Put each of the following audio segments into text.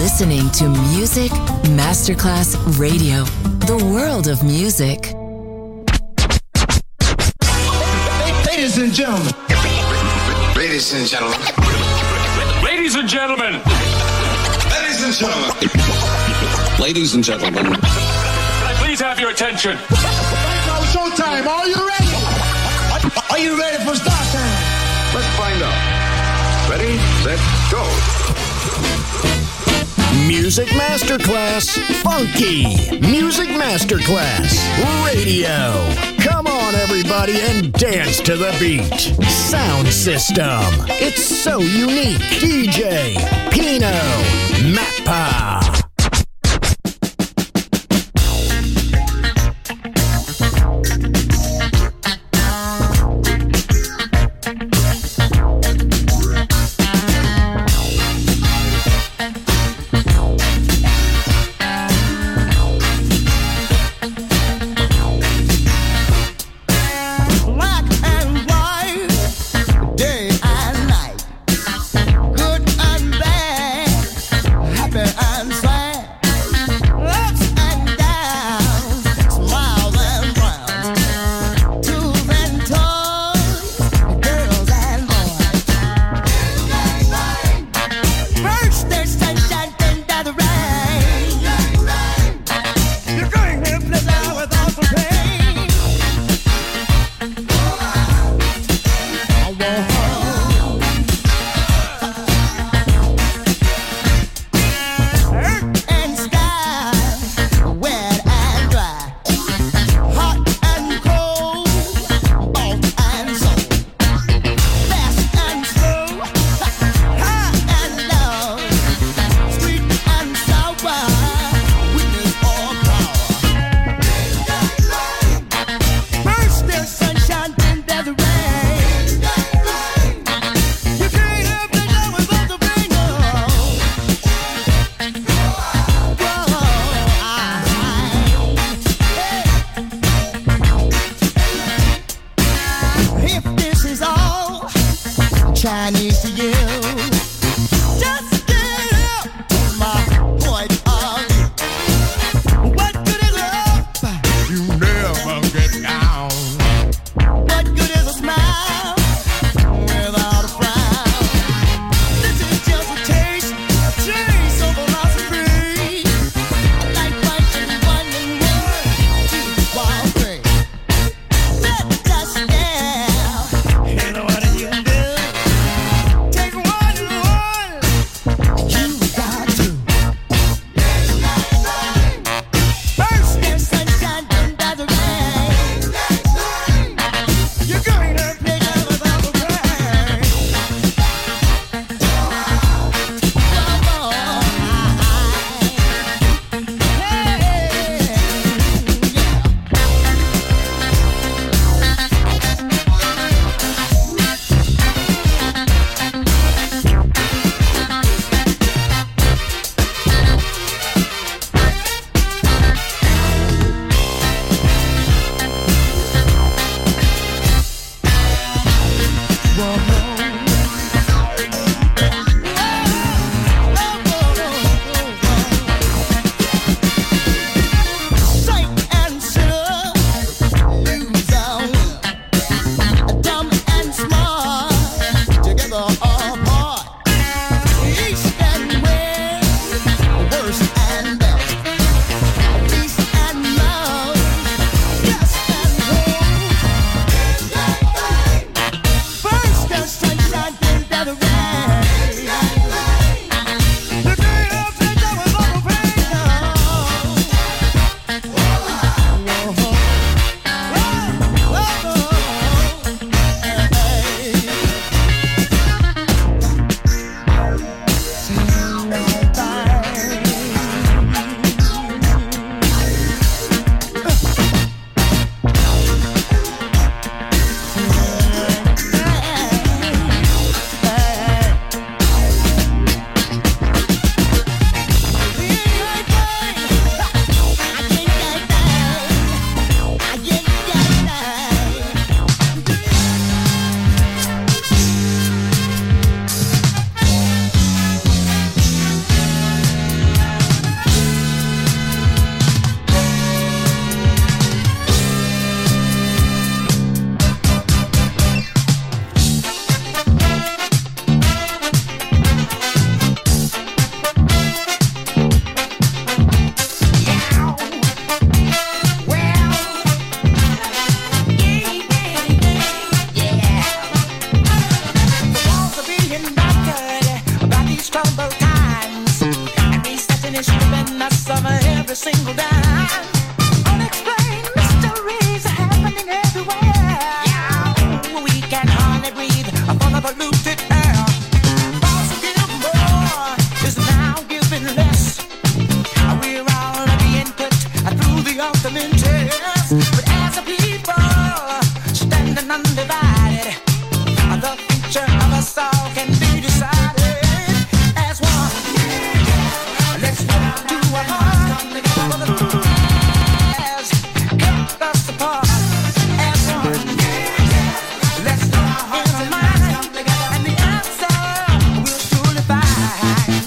listening to Music Masterclass Radio, the world of music. Ladies and gentlemen. Ladies and gentlemen. Ladies and gentlemen. Ladies and gentlemen. Ladies and gentlemen. Can I please have your attention? Now showtime. Are you ready? Are you ready for start time? Let's find out. Ready, set, go. Music Masterclass Funky. Music Masterclass Radio. Come on, everybody, and dance to the beat. Sound system. It's so unique. DJ Pino Mappa. Good and bad. troubled times, and resetting is stripping us of every single dime. Unexplained mysteries are happening everywhere. Yeah, we can hardly breathe upon the polluted air. Those who give more is now giving less. We're all being put through the ultimate test. But as a people standing undivided, the future of us all can be decided as one. Let's work to our heart, for the truth has kept us apart as one. Let's put our hearts and minds, and the answer we'll surely find.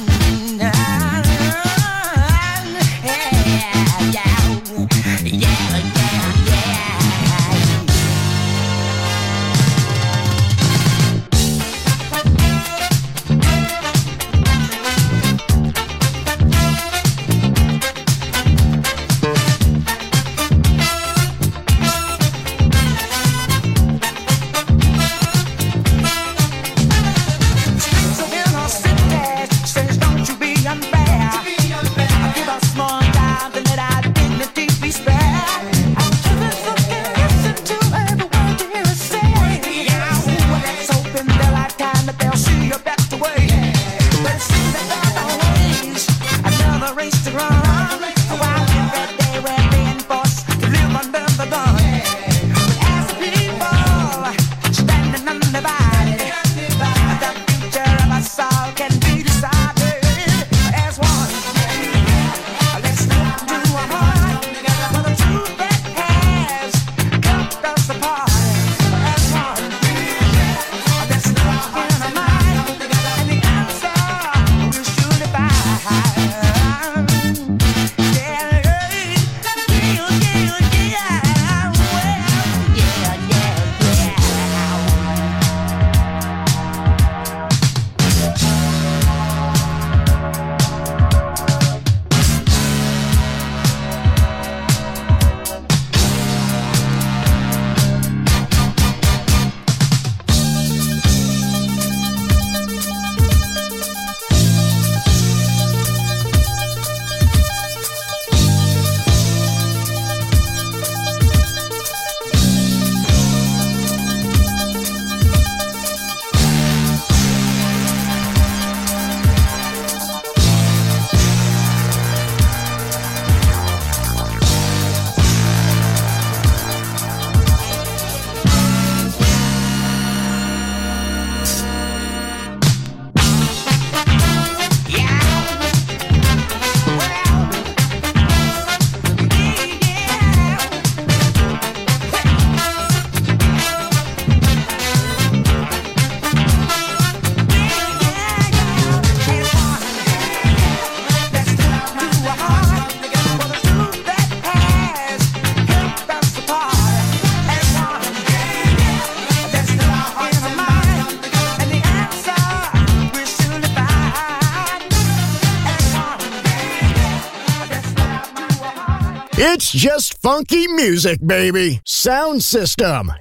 It's just funky music, baby. Sound System,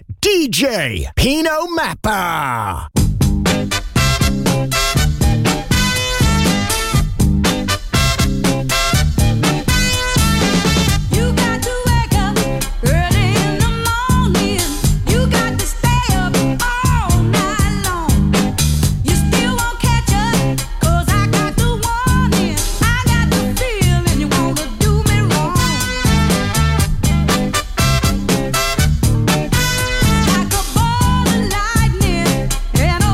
DJ Pino Mappa. And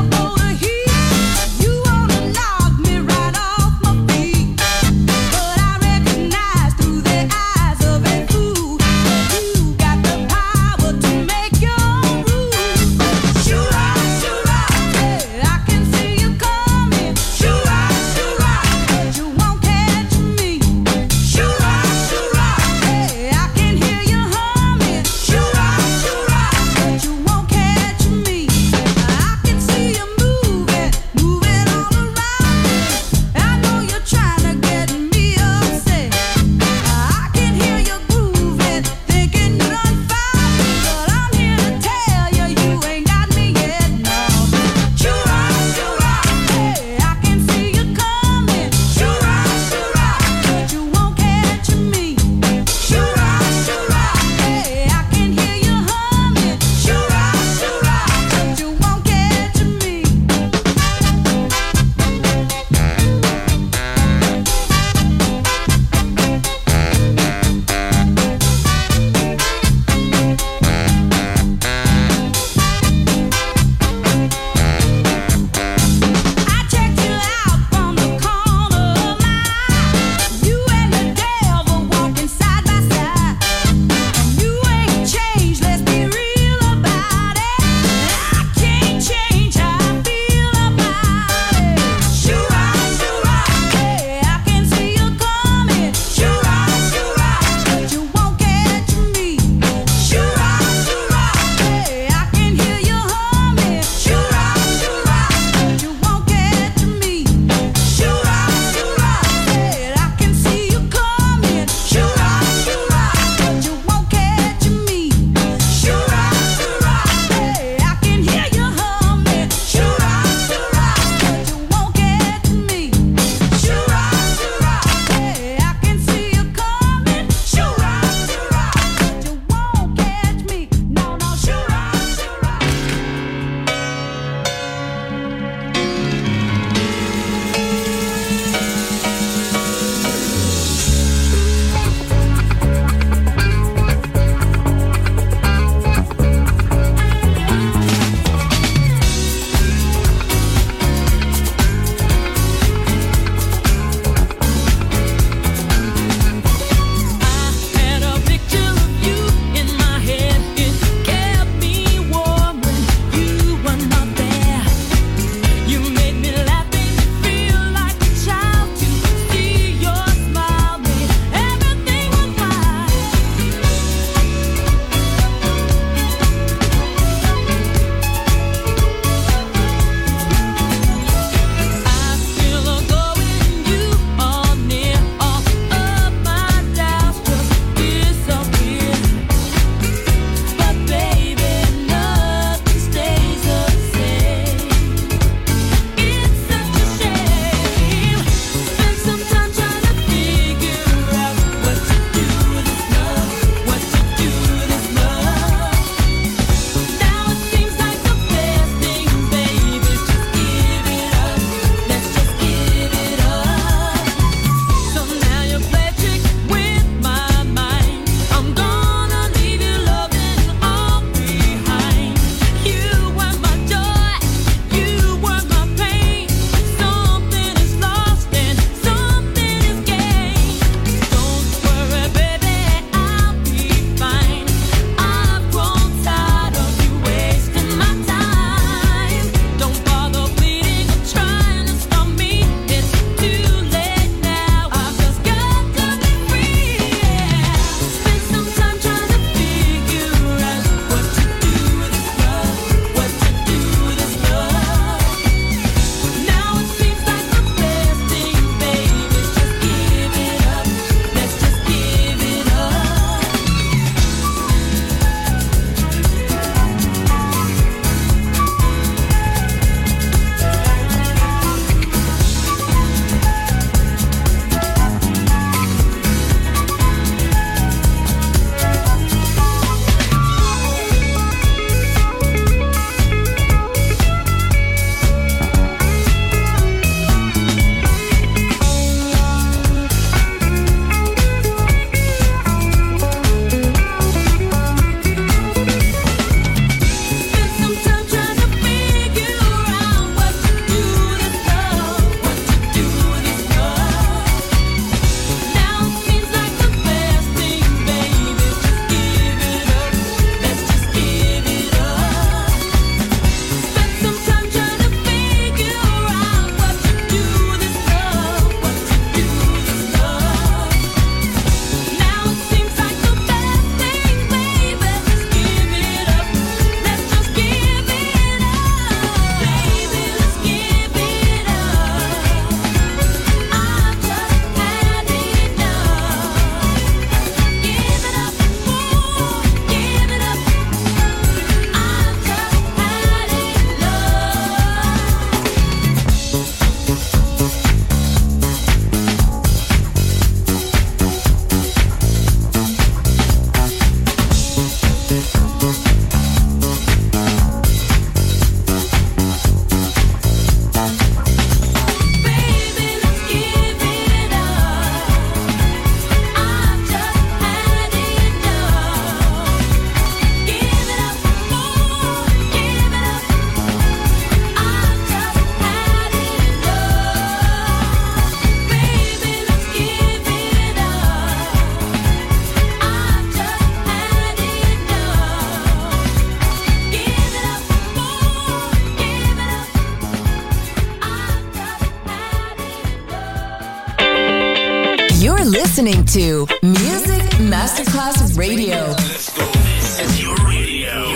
You're listening to Music Masterclass Radio. Let's go. This is your radio.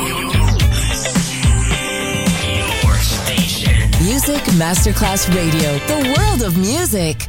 Your station. Music Masterclass Radio. The world of music.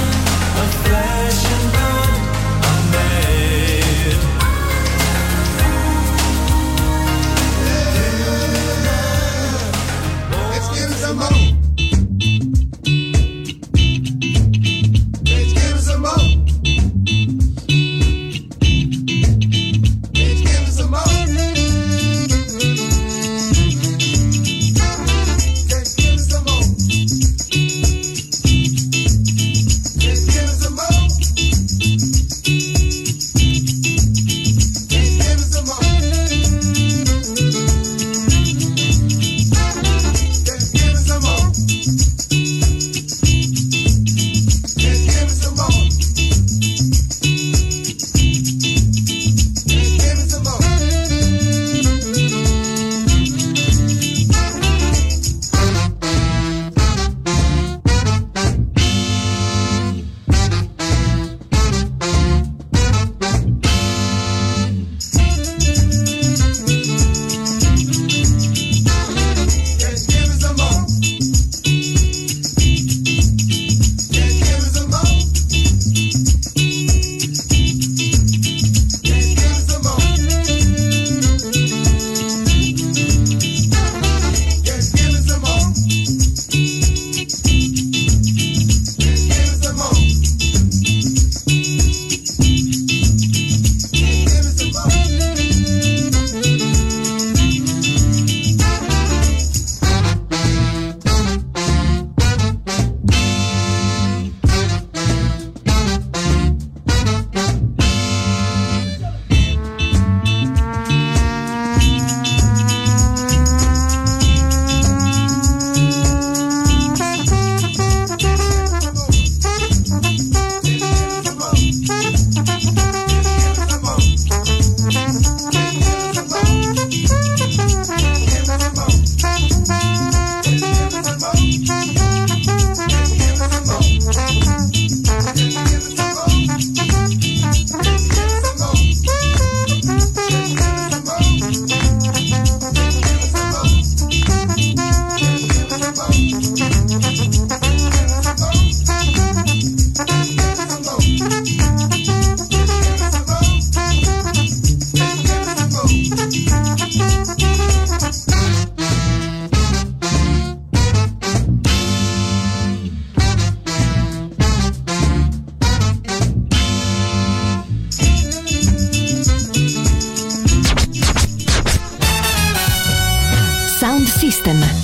Flesh and blood, I'm made.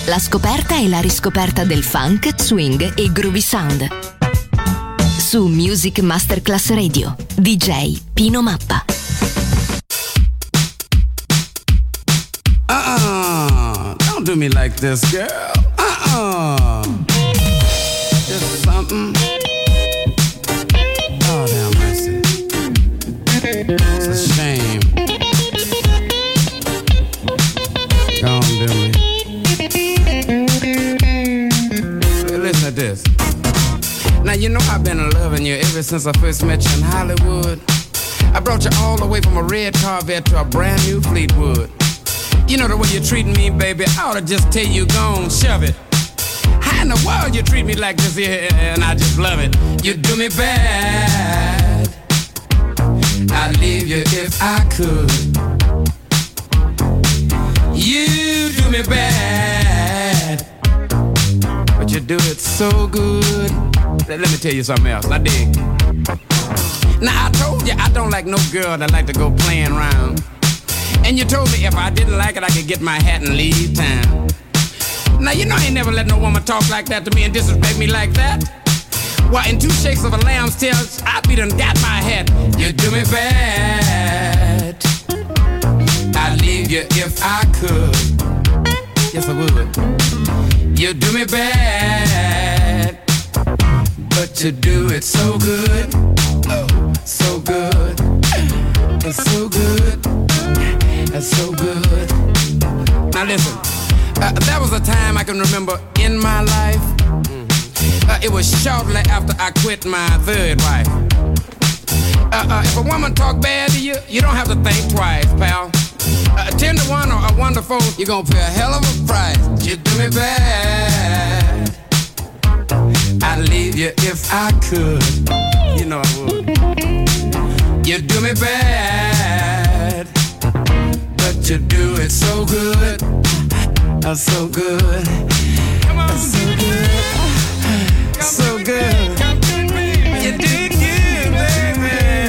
La scoperta e la riscoperta del funk, swing e groovy sound. Su Music Masterclass Radio, DJ Pino Mappa. Don't do me like this, girl. Just something. Oh, damn mercy. It's a shame. Don't do me. Listen to this. Now you know I've been loving you ever since I first met you in Hollywood. I brought you all the way from a red Corvette to a brand new Fleetwood. You know the way you're treating me, baby, I ought to just tell you, go on, shove it. How in the world you treat me like this here, and I just love it. You do me bad, I'd leave you if I could. You do me bad, but you do it so good. Let me tell you something else, I dig. Now I told you I don't like no girl that like to go playing around. And you told me if I didn't like it, I could get my hat and leave town. Now you know I ain't never let no woman talk like that to me and disrespect me like that. Why, in 2 shakes of a lamb's tail, I be done got my hat. You do me bad, I'd leave you if I could. Yes, I would. You do me bad, but you do it so good. Oh, so good. It's so good. That's so good. Now listen, that was a time I can remember in my life. It was shortly after I quit my third wife. If a woman talk bad to you, you don't have to think twice, pal. 10 to 1 or a 1 to 4, you're gonna pay a hell of a price. You do me bad, I'd leave you if I could. You know I would. You do me bad, but you do it so good. So good. Come on, so good. So good. You do it good, baby.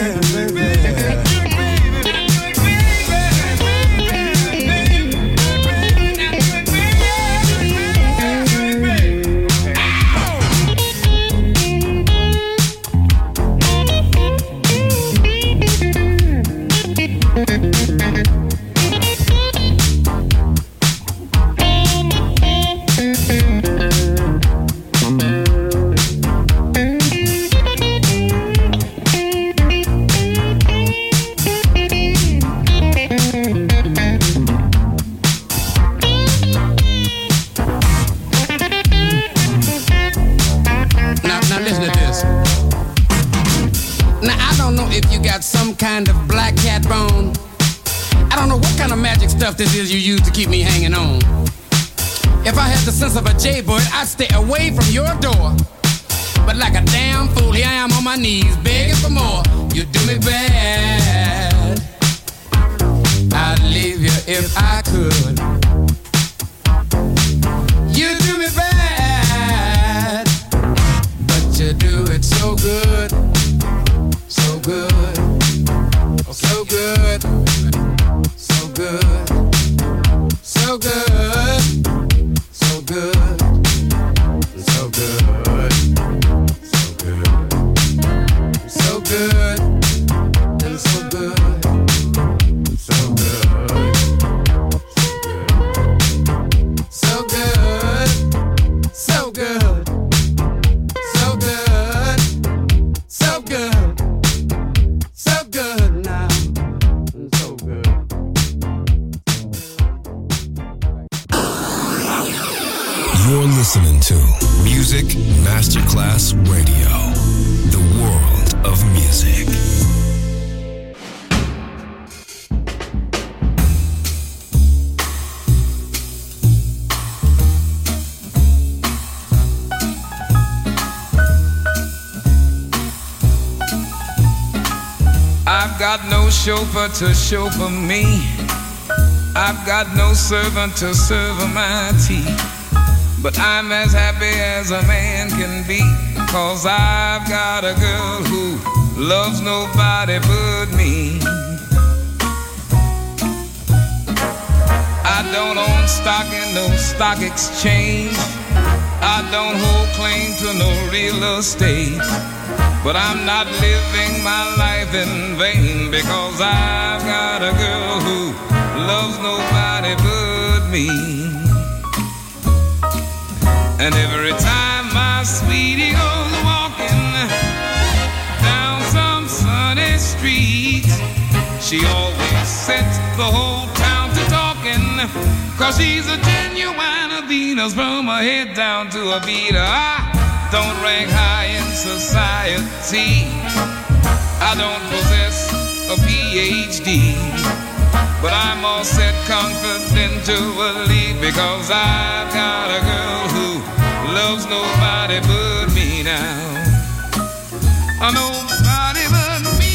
Some kind of black cat bone. I don't know what kind of magic stuff this is you use to keep me hanging on. If I had the sense of a jaybird, I'd stay away from your door. But like a damn fool, here I am on my knees, begging for more. You do me bad, I'd leave you if I could. You do me bad, but you do it so good. So good, so good, so good, so good, so good, so good, so good, and so good, so good, so good, so good, so good, so good. So good now, so good. You're listening to Music Masterclass Radio, the world of music. I've got no chauffeur to chauffeur me. I've got no servant to serve my tea. But I'm as happy as a man can be, 'cause I've got a girl who loves nobody but me. I don't own stock in no stock exchange. I don't hold claim to no real estate. But I'm not living my life in vain, because I've got a girl who loves nobody but me. And every time my sweetie goes walking down some sunny street, she always sets the whole town to talking, 'cause she's a genuine Venus from her head down to her feet. I don't rank high in society, I don't possess a PhD, but I'm all set confidentially, because I've got a girl who loves nobody but me now. Nobody but me.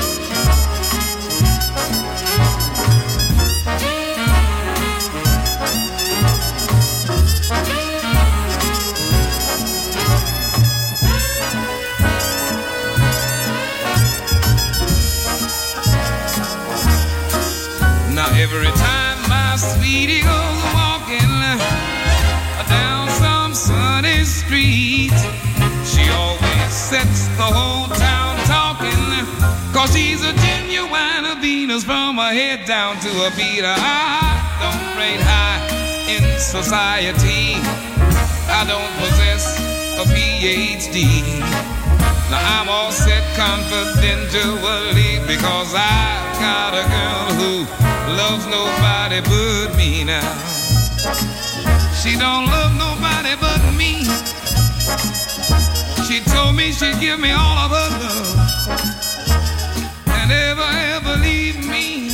Now every time my sweetie goes walking down some sunny street, she always sets the whole town talking, 'cause she's a genuine Venus from her head down to her feet. I don't rate high in society, I don't possess a PhD. Now I'm all set confidentially, because I've got a girl who loves nobody but me now. She don't love nobody but me. She told me she'd give me all of her love and never ever leave me.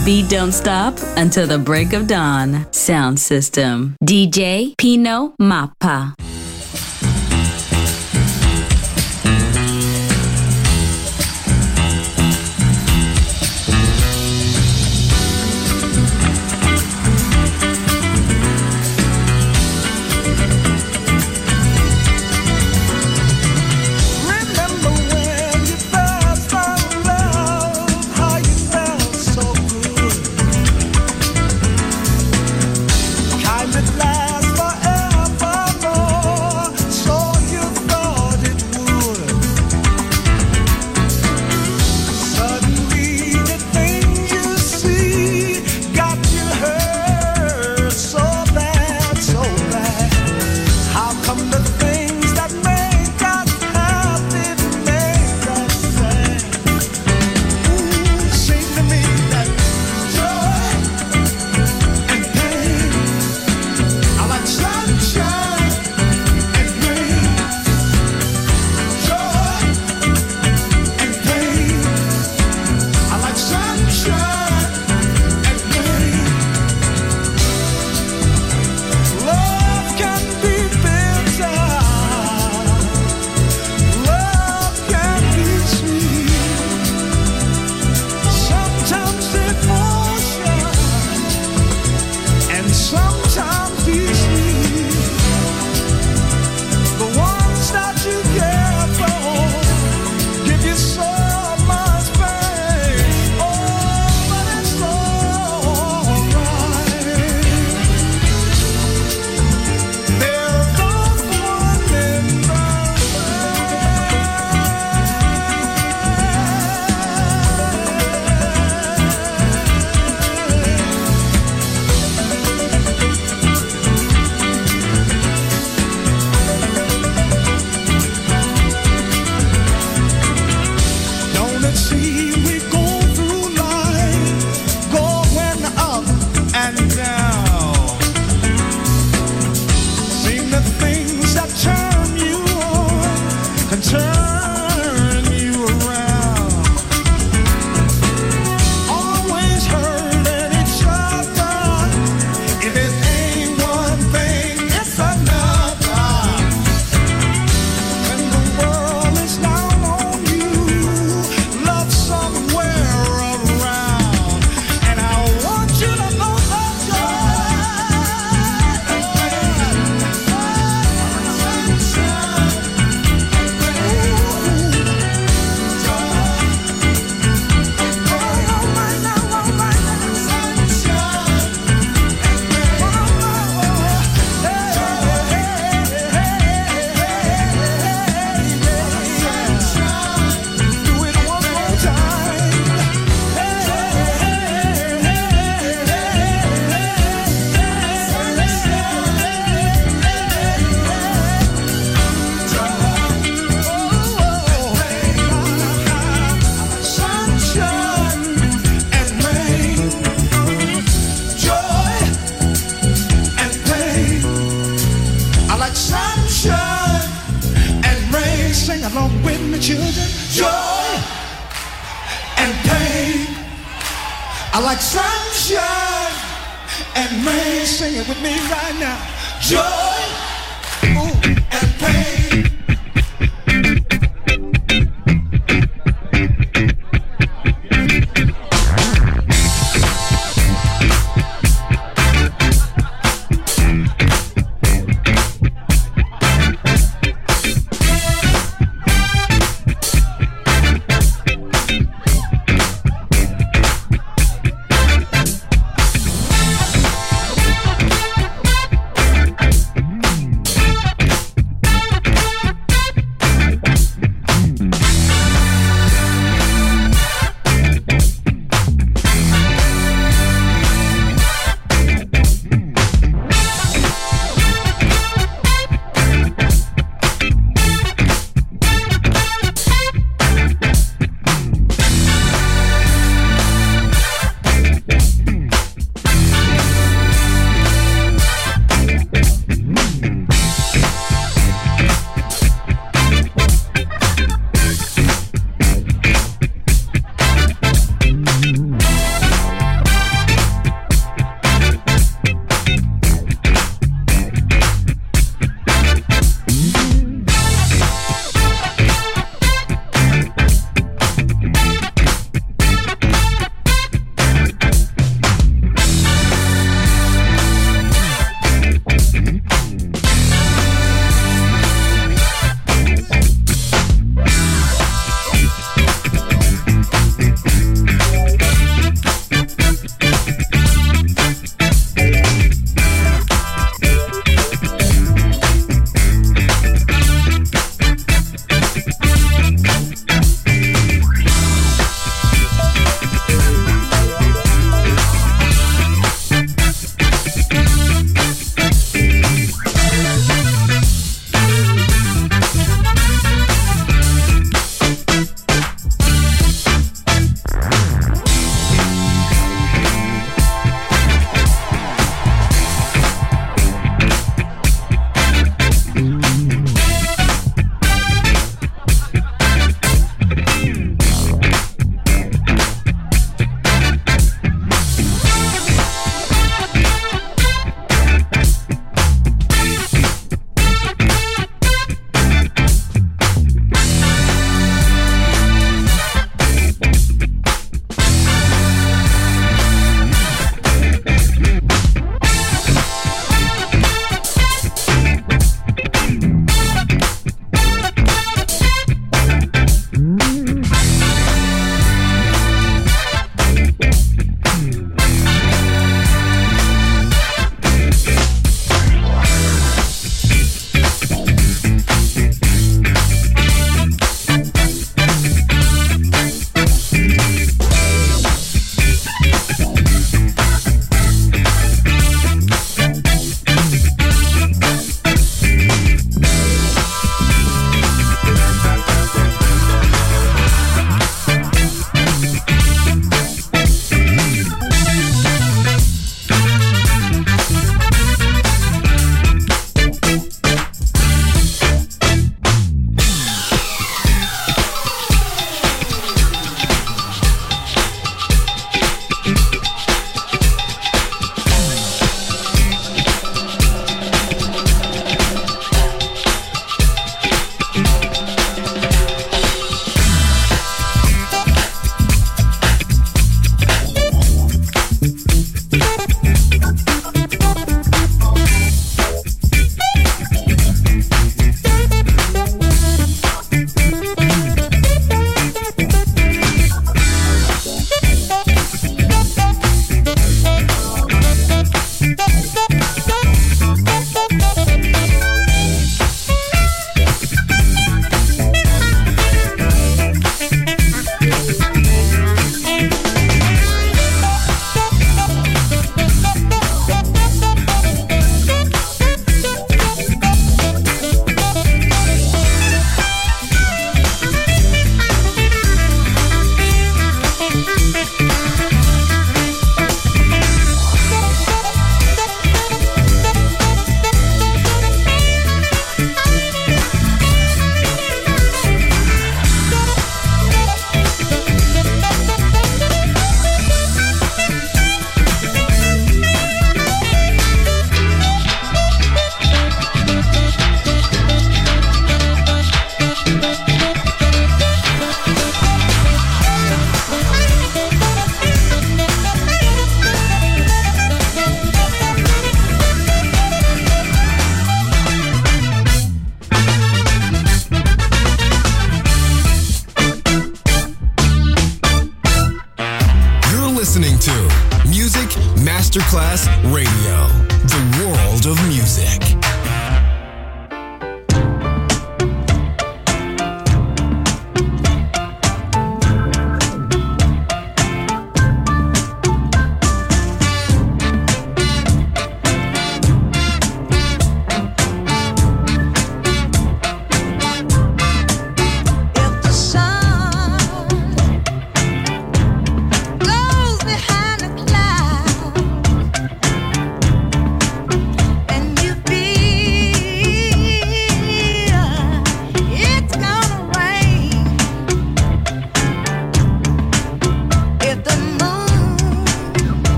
beat don't stop until the break of dawn. Sound system. DJ Pino Mappa.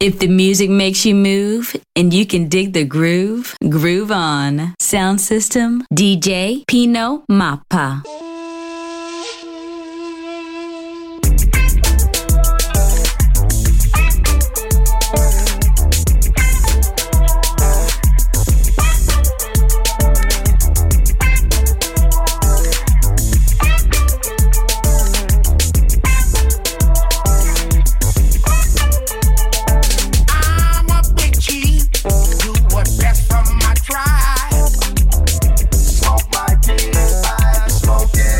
If the music makes you move and you can dig the groove, groove on. Sound system, DJ Pino Mappa. Smoke my deep fire, smoking.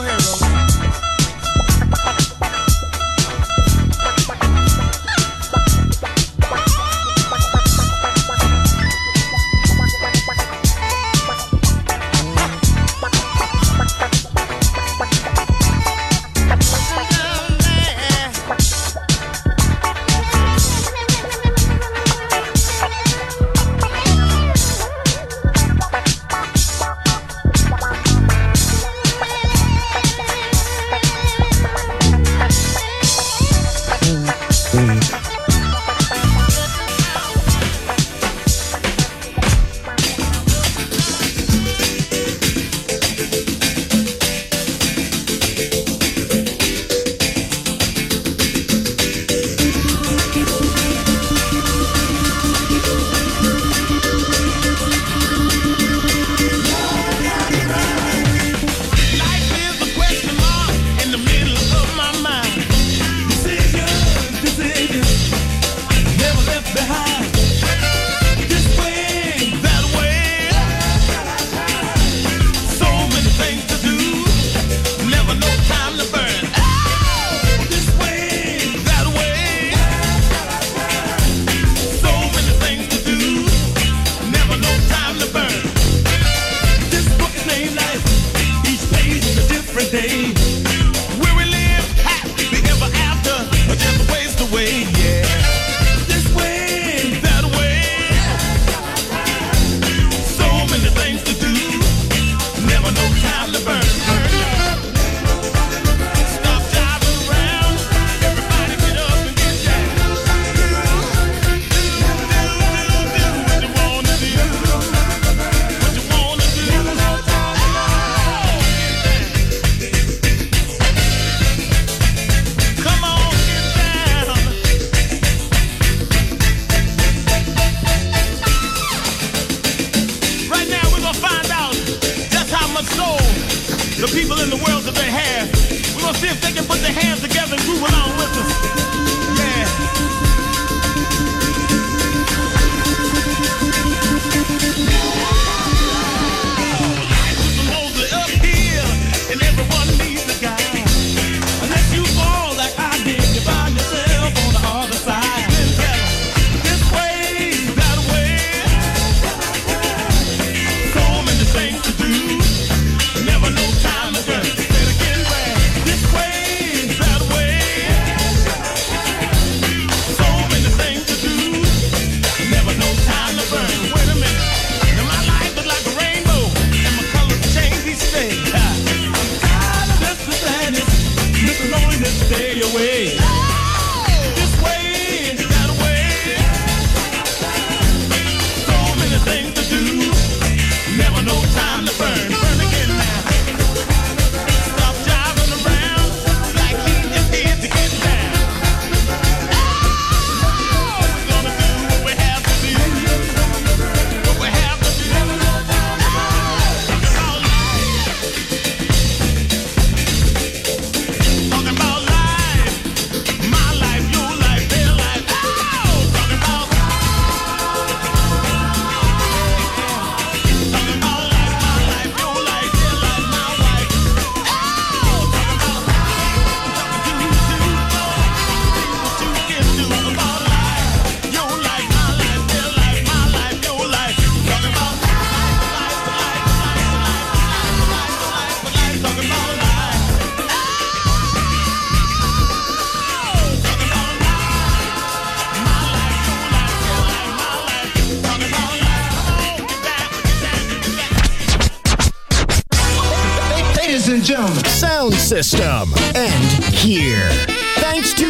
Sound system. And here. Thanks to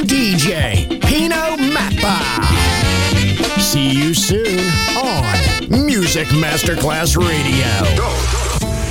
DJ Pino Mappa. See you soon on Music Masterclass Radio.